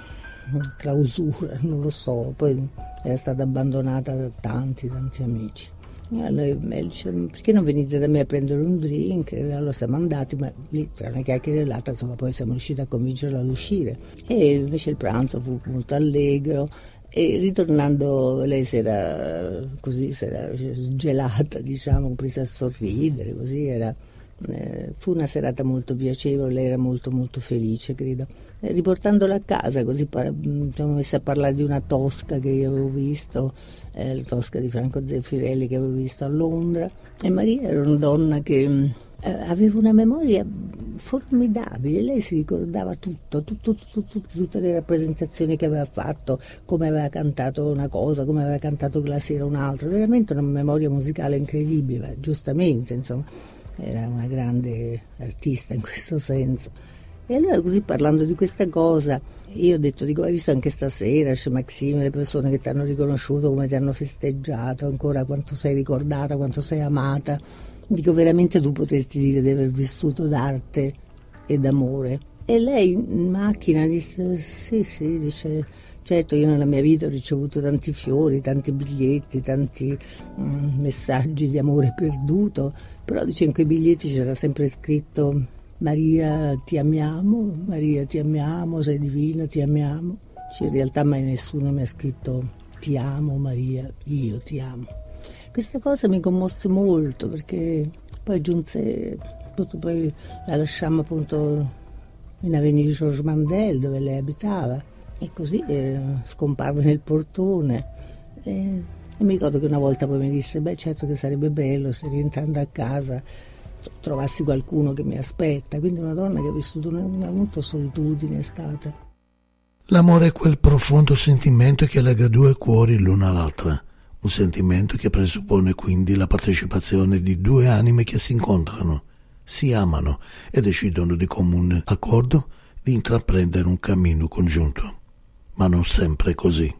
clausura, non lo so, poi era stata abbandonata da tanti, tanti amici. E allora lei dice, perché non venite da me a prendere un drink? E allora siamo andati, ma lì tra una chiacchierellata, insomma, poi siamo riusciti a convincerla ad uscire. E invece il pranzo fu molto allegro. E ritornando lei si era così, si era sgelata, diciamo, presa a sorridere, così era, eh, fu una serata molto piacevole, lei era molto molto felice, credo. E riportandola a casa, così siamo messi a parlare di una Tosca che io avevo visto, eh, la Tosca di Franco Zeffirelli che avevo visto a Londra, e Maria era una donna che eh, aveva una memoria formidabile, lei si ricordava tutto, tutto, tutto, tutto, tutte le rappresentazioni che aveva fatto, come aveva cantato una cosa, come aveva cantato quella sera un'altra, veramente una memoria musicale incredibile, giustamente, insomma, era una grande artista in questo senso. E allora così parlando di questa cosa, io ho detto, dico, hai visto anche stasera, chez Maxime, le persone che ti hanno riconosciuto, come ti hanno festeggiato, ancora quanto sei ricordata, quanto sei amata. Dico, veramente tu potresti dire di aver vissuto d'arte e d'amore. E lei in macchina disse, sì, sì, dice, certo io nella mia vita ho ricevuto tanti fiori, tanti biglietti, tanti mm, messaggi di amore perduto, però dice in quei biglietti c'era sempre scritto Maria ti amiamo, Maria ti amiamo, sei divina, ti amiamo. Dice, in realtà mai nessuno mi ha scritto ti amo Maria, io ti amo. Questa cosa mi commosse molto perché poi giunse, poi la lasciammo appunto in Avenue Georges Mandel dove lei abitava e così eh, scomparve nel portone e, e mi ricordo che una volta poi mi disse beh certo che sarebbe bello se rientrando a casa trovassi qualcuno che mi aspetta, quindi una donna che ha vissuto una, una molta solitudine è stata. L'amore è quel profondo sentimento che lega due cuori l'una all'altra. Un sentimento che presuppone quindi la partecipazione di due anime che si incontrano, si amano e decidono di comune accordo di intraprendere un cammino congiunto. Ma non sempre è così.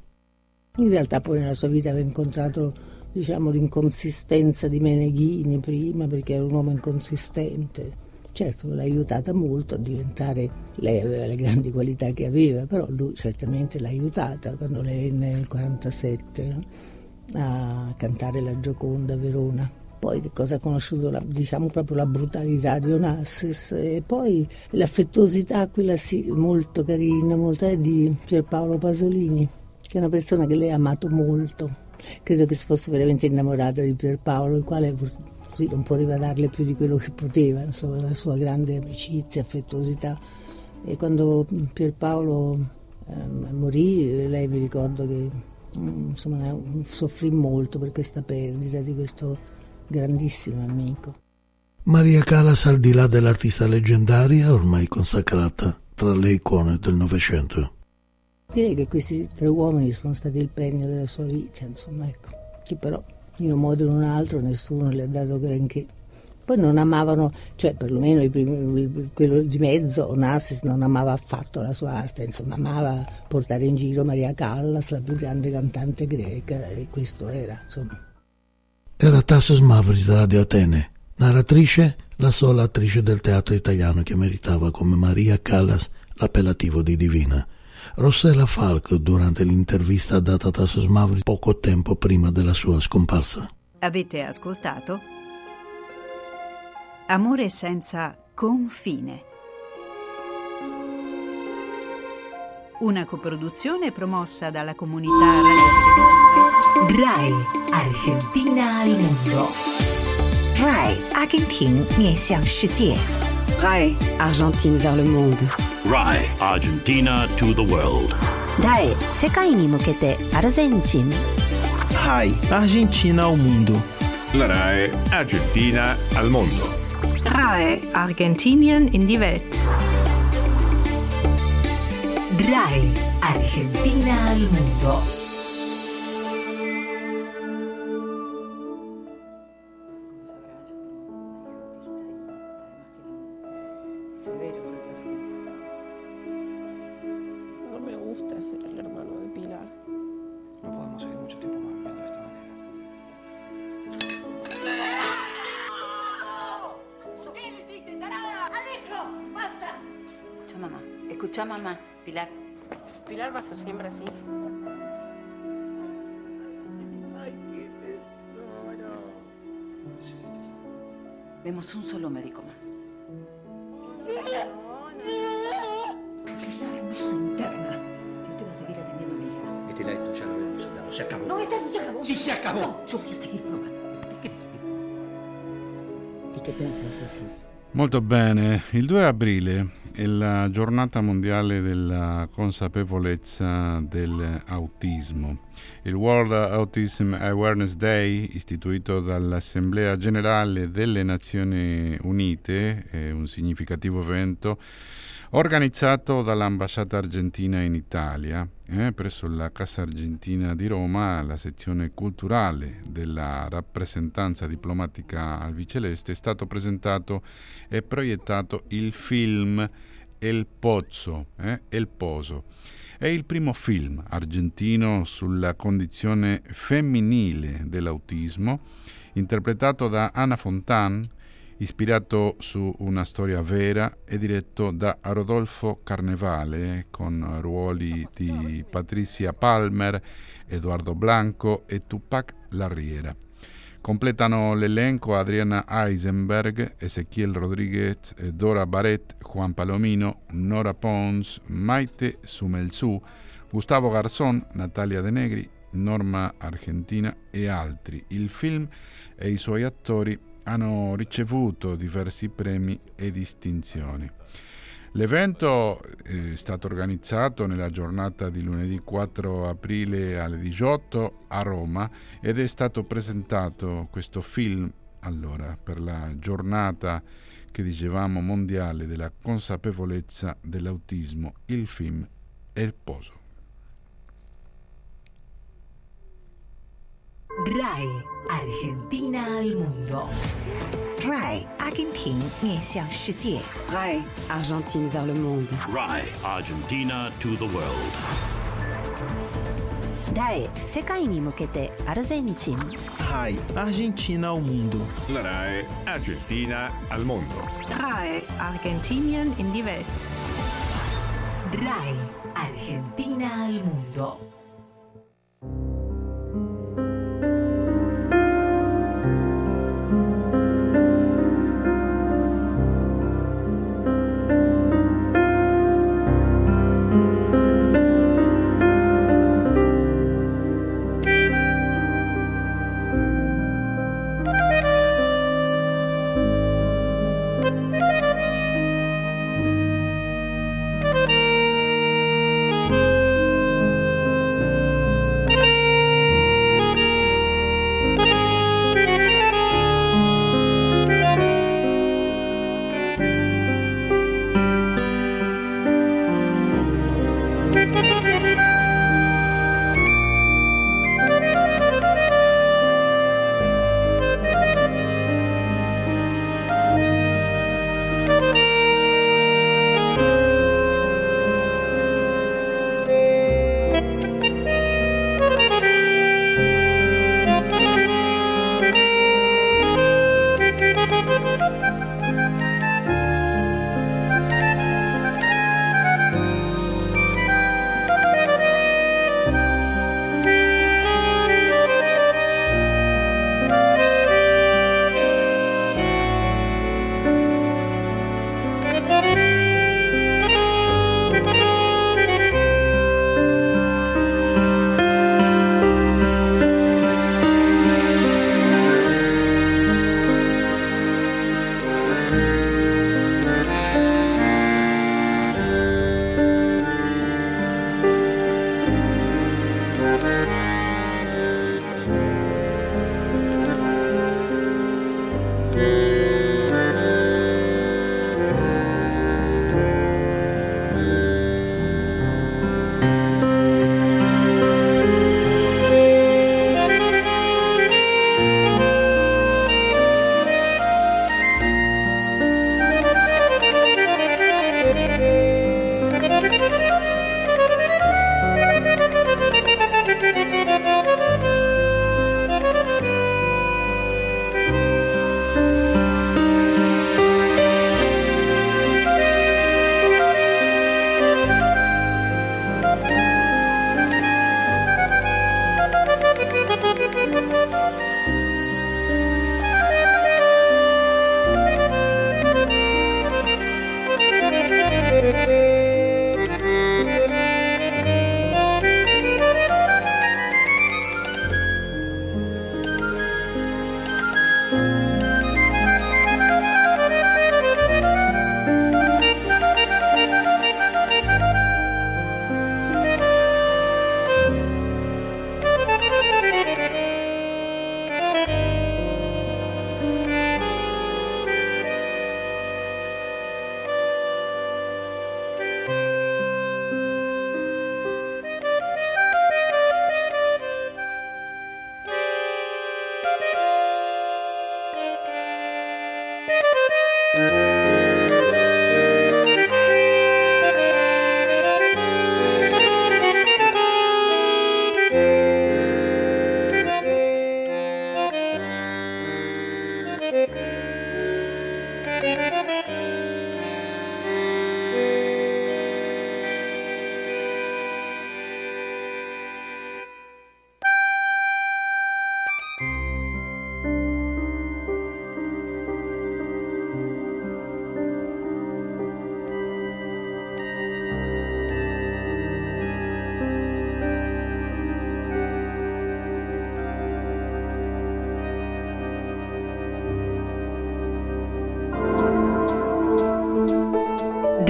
In realtà poi nella sua vita aveva incontrato, diciamo, l'inconsistenza di Meneghini prima, perché era un uomo inconsistente. Certo l'ha aiutata molto a diventare, lei aveva le grandi qualità che aveva, però lui certamente l'ha aiutata quando lei venne nel quarantasette, no? A cantare la Gioconda a Verona. Poi che cosa ha conosciuto? La, diciamo proprio la brutalità di Onassis e poi l'affettuosità, quella sì, molto carina, molto è di Pierpaolo Pasolini, che è una persona che lei ha amato molto. Credo che si fosse veramente innamorata di Pierpaolo, il quale così non poteva darle più di quello che poteva, insomma, la sua grande amicizia, affettuosità. E quando Pierpaolo eh, morì, lei mi ricordo che insomma soffrì molto per questa perdita di questo grandissimo amico. Maria Callas, al di là dell'artista leggendaria, ormai consacrata tra le icone del Novecento. Direi che questi tre uomini sono stati il premio della sua vita, insomma, ecco, che però in un modo o in un altro nessuno le ha dato granché. Poi non amavano, cioè perlomeno i primi, quello di mezzo, Onassis non amava affatto la sua arte, insomma amava portare in giro Maria Callas, la più grande cantante greca, e questo era, insomma. Era Tassos Mavris da Radio Atene, narratrice, la sola attrice del teatro italiano che meritava come Maria Callas l'appellativo di divina. Rossella Falco durante l'intervista data a Tassos Mavris poco tempo prima della sua scomparsa. Avete ascoltato Amore senza confine. una coproduzione promossa dalla comunità radio. RAI Argentina al mondo. RAI 阿根廷面向世界。 RAI Argentine vers le monde. RAI Argentina to the world. RAI 世界に向けてアルゼンチン。 RAI Argentina al mondo. La RAI Argentina al mondo. RAI Argentinien in die Welt. RAI Argentina al mundo. No me gusta ser el hermano de Pilar. No podemos seguir mucho tiempo más viviendo de esta manera. ¿Qué lo hiciste, tarada? ¡Alejo! ¡Basta! Escucha, mamá. Escucha, mamá. Pilar. Pilar va a ser siempre así. Ay, qué tesoro. Vemos un solo médico más. Pilar no se interna. Yo te voy a seguir atendiendo a mi hija. Estela, esto ya lo habíamos hablado. Se acabó. No, esto no se acabó. Sí, se acabó. No, yo voy a seguir probando. ¿Qué quieres seguir? ¿Y qué pensás hacer? Molto bene, il due aprile è la giornata mondiale della consapevolezza dell'autismo. Il World Autism Awareness Day, istituito dall'Assemblea Generale delle Nazioni Unite, è un significativo evento organizzato dall'ambasciata argentina in Italia, eh, presso la Casa Argentina di Roma. La sezione culturale della rappresentanza diplomatica albiceleste è stato presentato e proiettato il film El Pozo, eh, El Pozo. È il primo film argentino sulla condizione femminile dell'autismo, interpretato da Ana Fontán, ispirato su una storia vera e diretto da Rodolfo Carnevale, con ruoli di Patricia Palmer, Eduardo Blanco e Tupac Larriera. Completano l'elenco Adriana Eisenberg, Ezequiel Rodríguez, Dora Barret, Juan Palomino, Nora Pons, Maite Sumelzú, Gustavo Garzón, Natalia De Negri, Norma Argentina e altri. Il film e i suoi attori hanno ricevuto diversi premi e distinzioni. L'evento è stato organizzato nella giornata di lunedì quattro aprile alle diciotto a Roma ed è stato presentato questo film allora per la giornata che dicevamo mondiale della consapevolezza dell'autismo, il film El Pozo. RAI Argentina al mondo. RAI 阿根廷面向世界。 RAI Argentine vers le monde. RAI Argentina to the world. RAI 世界に向けてアルゼンチン。 RAI Argentina al mondo. La RAI Argentina al mondo. RAI Argentinien in die Welt. RAI Argentina al mundo.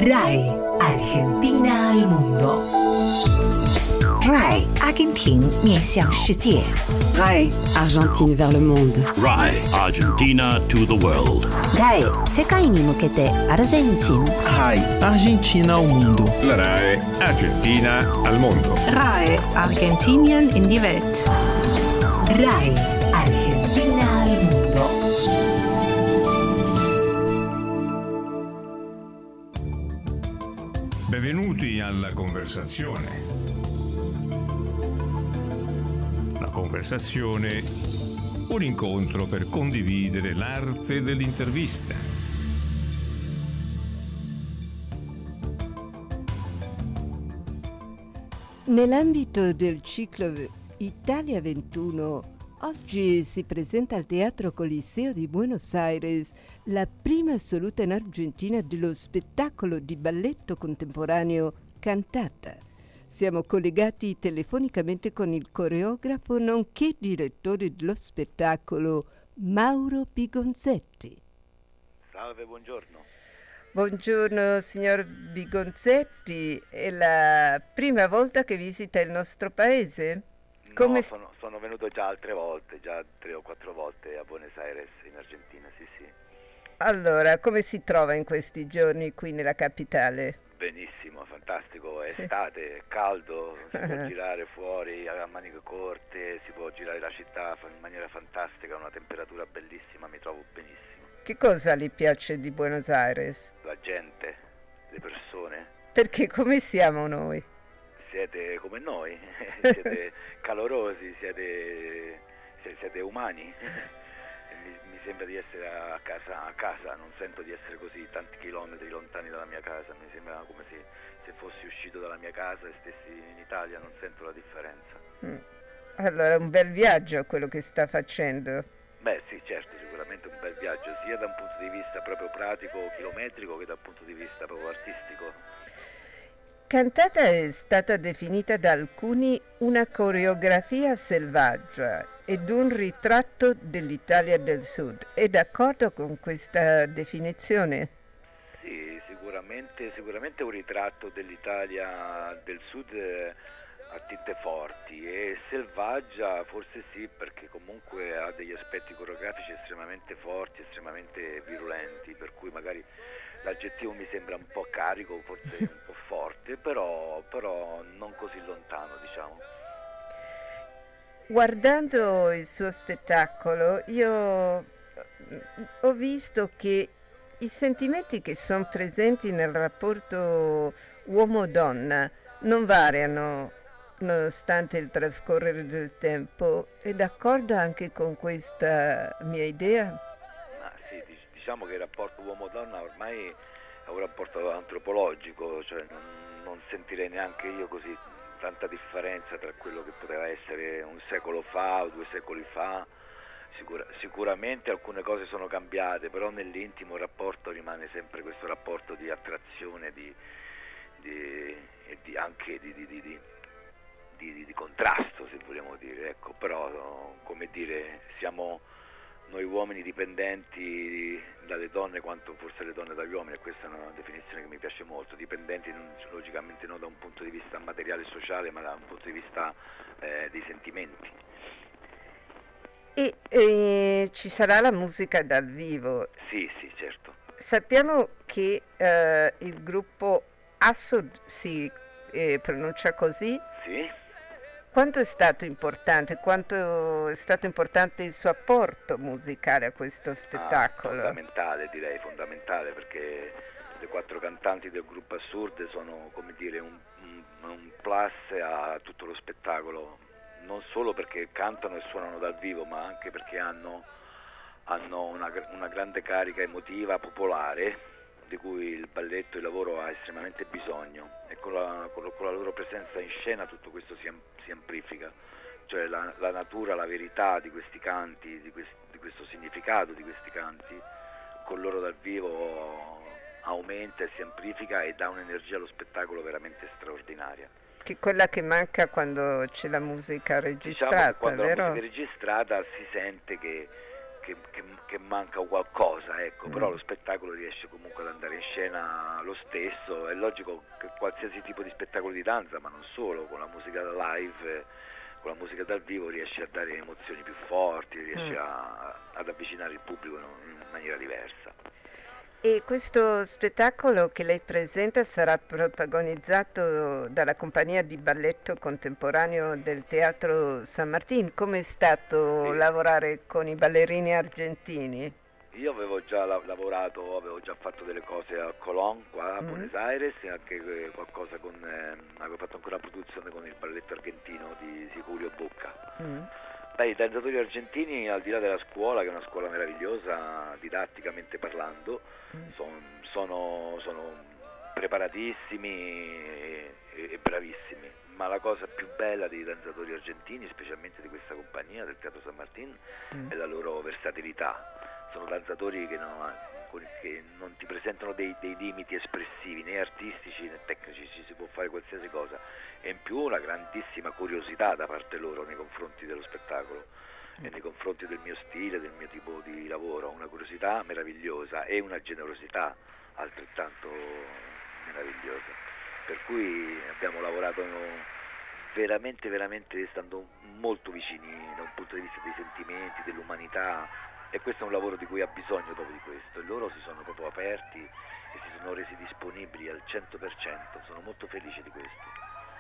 RAI Argentina al mondo. RAI 阿根廷面向世界。 RAI Argentine vers le monde. RAI Argentina to the world. RAI 世界に向けてアルゼンチン。 RAI Argentina ao mundo. La RAI Argentina al mondo. RAI Argentinien in die Welt. RAI Argentina al mondo. Benvenuti alla conversazione. La conversazione, un incontro per condividere l'arte dell'intervista. Nell'ambito del ciclo Italia ventuno, oggi si presenta al Teatro Coliseo di Buenos Aires la prima assoluta in Argentina dello spettacolo di balletto contemporaneo Cantata. Siamo collegati telefonicamente con il coreografo nonché direttore dello spettacolo Mauro Bigonzetti. Salve, buongiorno. Buongiorno signor Bigonzetti, è la prima volta che visita il nostro paese? Come no, sono, sono venuto già altre volte, già tre o quattro volte a Buenos Aires in Argentina, sì sì. Allora, come si trova in questi giorni qui nella capitale? Benissimo, fantastico, è Sì. estate, è caldo, si può girare fuori a maniche corte, si può girare la città in maniera fantastica, una temperatura bellissima, mi trovo benissimo. Che cosa le piace di Buenos Aires? La gente, le persone, Perché come siamo noi? siete come noi, siete calorosi, siete, si- siete umani. Mi, mi sembra di essere a casa, a casa, non sento di essere così tanti chilometri lontani dalla mia casa, mi sembra come se, se fossi uscito dalla mia casa e stessi in Italia, non sento la differenza. Mm. Allora, un bel viaggio quello che sta facendo. Beh sì, certo, sicuramente un bel viaggio, sia da un punto di vista proprio pratico, chilometrico, che dal punto di vista proprio artistico. Cantata è stata definita da alcuni una coreografia selvaggia ed un ritratto dell'Italia del Sud. È d'accordo con questa definizione? Sì, sicuramente, sicuramente un ritratto dell'Italia del Sud eh, a tinte forti, e selvaggia forse sì, perché comunque ha degli aspetti coreografici estremamente forti, estremamente virulenti, per cui magari l'aggettivo mi sembra un po' carico, forse un po' forte, però, però non così lontano, diciamo. Guardando il suo spettacolo, io ho visto che i sentimenti che sono presenti nel rapporto uomo-donna non variano nonostante il trascorrere del tempo. È d'accordo anche con questa mia idea? Ma sì, dic- diciamo che il rapporto uomo-donna ormai è un rapporto antropologico, cioè non, non sentirei neanche io così tanta differenza tra quello che poteva essere un secolo fa o due secoli fa. Sicura- sicuramente alcune cose sono cambiate, però nell'intimo il rapporto rimane sempre questo rapporto di attrazione, di, di, e di anche di, di, di, di, di, di contrasto, se vogliamo dire, ecco. Però come dire, siamo noi uomini dipendenti dalle donne quanto forse le donne dagli uomini, e questa è una definizione che mi piace molto, dipendenti non, logicamente non da un punto di vista materiale e sociale, ma da un punto di vista eh, dei sentimenti. E, e ci sarà la musica dal vivo. Sì, sì, certo. Sappiamo che eh, il gruppo Assod si eh, pronuncia così. Sì. Quanto è stato importante, quanto è stato importante il suo apporto musicale a questo spettacolo? Ah, fondamentale, direi fondamentale, perché le quattro cantanti del gruppo Assurde sono, come dire, un, un, un plus a tutto lo spettacolo, non solo perché cantano e suonano dal vivo, ma anche perché hanno, hanno una, una grande carica emotiva popolare, di cui il balletto, il lavoro ha estremamente bisogno, e con la, con la, con la loro presenza in scena tutto questo si, si amplifica, cioè la, la natura, la verità di questi canti, di, quest, di questo significato di questi canti, con loro dal vivo aumenta e si amplifica e dà un'energia allo spettacolo veramente straordinaria. Che è quella che manca quando c'è la musica registrata, diciamo che quando vero? la musica è registrata si sente che che, che, che manca qualcosa, ecco, Mm. però lo spettacolo riesce comunque ad andare in scena lo stesso. È logico che qualsiasi tipo di spettacolo di danza, ma non solo, con la musica live, eh, con la musica dal vivo riesce a dare emozioni più forti, riesce Mm. a, ad avvicinare il pubblico in, in maniera diversa. E questo spettacolo che lei presenta sarà protagonizzato dalla compagnia di balletto contemporaneo del Teatro San Martín. Com'è stato Sì. lavorare con i ballerini argentini? Io avevo già la- lavorato, avevo già fatto delle cose a Colón, qua a Mm. Buenos Aires, e anche eh, qualcosa con, eh, avevo fatto ancora una produzione con il balletto argentino di Julio Bocca. Mm. Beh, i danzatori argentini, al di là della scuola, che è una scuola meravigliosa, didatticamente parlando, son- sono, sono preparatissimi e, e bravissimi, ma la cosa più bella dei danzatori argentini, specialmente di questa compagnia del Teatro San Martín, Mm. è la loro versatilità. Sono danzatori che non, con- che non ti presentano dei, dei limiti espressivi, né artistici né tecnici, ci si può fare qualsiasi cosa, e in più una grandissima curiosità da parte loro nei confronti dello spettacolo e nei confronti del mio stile, del mio tipo di lavoro, una curiosità meravigliosa e una generosità altrettanto meravigliosa, per cui abbiamo lavorato veramente veramente stando molto vicini da un punto di vista dei sentimenti, dell'umanità, e questo è un lavoro di cui ha bisogno dopo di questo, e loro si sono proprio aperti e si sono resi disponibili al cento per cento, sono molto felice di questo.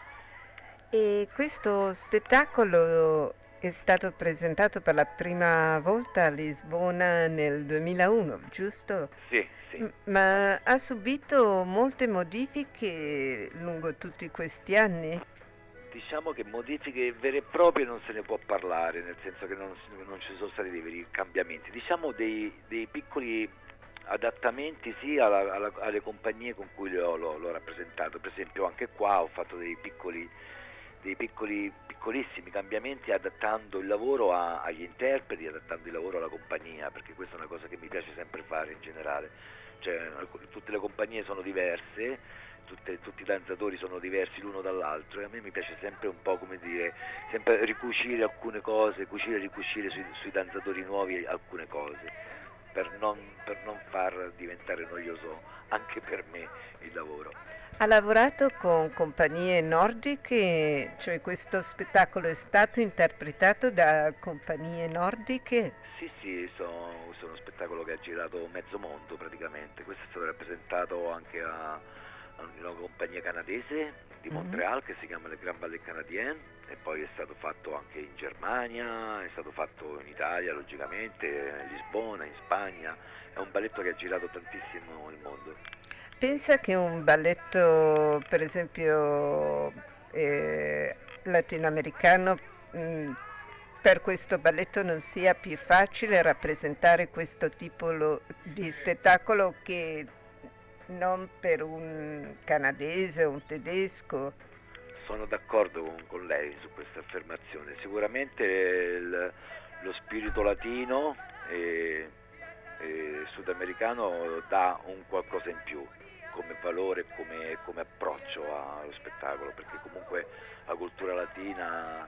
E questo spettacolo è stato presentato per la prima volta a Lisbona nel duemilauno, giusto? Sì, sì. M- Ma ha subito molte modifiche lungo tutti questi anni? Diciamo che modifiche vere e proprie non se ne può parlare, nel senso che non, non ci sono stati dei veri cambiamenti, diciamo dei, dei piccoli adattamenti sì alla, alla, alle compagnie con cui l'ho, l'ho, l'ho rappresentato. Per esempio anche qua ho fatto dei piccoli dei piccoli piccolissimi cambiamenti adattando il lavoro a, agli interpreti, adattando il lavoro alla compagnia, perché questa è una cosa che mi piace sempre fare in generale, cioè tutte le compagnie sono diverse, tutte, tutti i danzatori sono diversi l'uno dall'altro, e a me mi piace sempre un po', come dire, sempre ricucire alcune cose, cucire e ricucire sui, sui danzatori nuovi alcune cose, per non, per non far diventare noioso anche per me il lavoro. Ha lavorato con compagnie nordiche, cioè questo spettacolo è stato interpretato da compagnie nordiche? Sì, sì, sono, è uno spettacolo che ha girato mezzo mondo praticamente. Questo è stato rappresentato anche a, a una compagnia canadese di Montreal, mm-hmm, che si chiama Le Grand Ballet Canadien, e poi è stato fatto anche in Germania, è stato fatto in Italia logicamente, a Lisbona, in Spagna. È un balletto che ha girato tantissimo il mondo. Pensa che un balletto, per esempio, eh, latinoamericano, mh, per questo balletto non sia più facile rappresentare questo tipo lo, di spettacolo che non per un canadese o un tedesco? Sono d'accordo con, con lei su questa affermazione. Sicuramente il, lo spirito latino e, e sudamericano dà un qualcosa in più come valore, come, come approccio allo spettacolo, perché comunque la cultura latina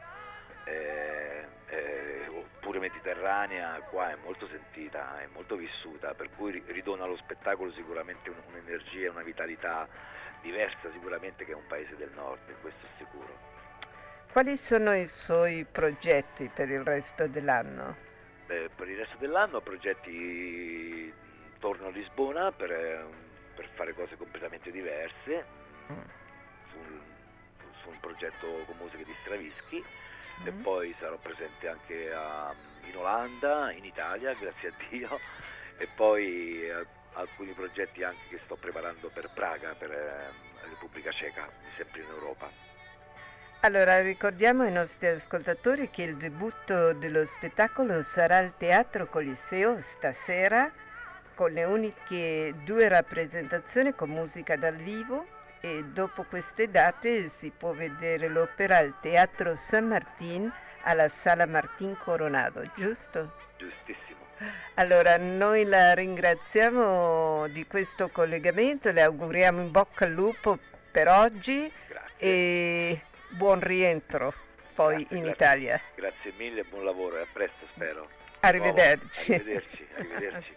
è, è, oppure mediterranea qua è molto sentita, è molto vissuta, per cui ridona allo spettacolo sicuramente un, un'energia e una vitalità diversa sicuramente che è un paese del nord, questo è sicuro. Quali sono i suoi progetti per il resto dell'anno? Beh, per il resto dell'anno progetti, torno a Lisbona per per fare cose completamente diverse, mm. su, un, su un progetto con musiche di Stravinsky, mm. e poi sarò presente anche a, in Olanda, in Italia, grazie a Dio, e poi a, alcuni progetti anche che sto preparando per Praga, per eh, la Repubblica Ceca, sempre in Europa. Allora, ricordiamo ai nostri ascoltatori che il debutto dello spettacolo sarà al Teatro Coliseo stasera, con le uniche due rappresentazioni con musica dal vivo, e dopo queste date si può vedere l'opera al Teatro San Martín alla Sala Martín Coronado, giusto? Giustissimo. Allora, noi la ringraziamo di questo collegamento, le auguriamo in bocca al lupo per oggi. Grazie. E buon rientro. poi grazie, in grazie, Italia. Grazie mille e buon lavoro, e a presto spero. Arrivederci. Arrivederci, arrivederci.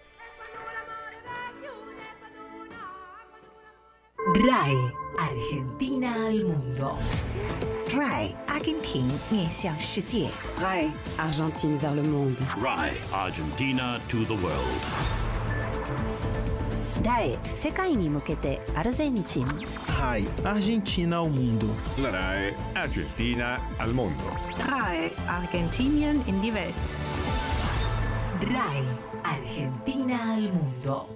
RAI Argentina al mondo. RAI 阿根廷面向世界。 RAI Argentine vers le monde. RAI Argentina to the world. RAI 世界に向けてアルゼンチン。 RAI Argentina al mondo. La RAI Argentina al mondo. RAI Argentinien in die Welt. RAI Argentina al mondo.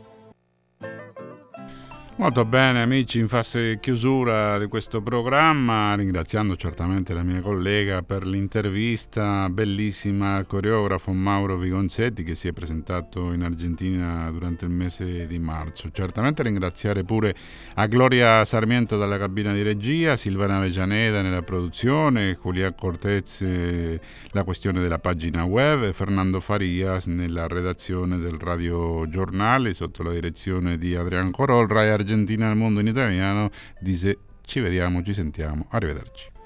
Molto bene amici, in fase chiusura di questo programma, ringraziando certamente la mia collega per l'intervista bellissima al coreografo Mauro Vigonzetti che si è presentato in Argentina durante il mese di marzo. Certamente ringraziare pure a Gloria Sarmiento dalla cabina di regia, Silvana Avellaneda nella produzione, Julián Cortez la questione della pagina web e Fernando Farias nella redazione del Radio Giornale sotto la direzione di Adrian Corol. RAI Argentina al mondo in italiano dice ci vediamo, ci sentiamo, arrivederci.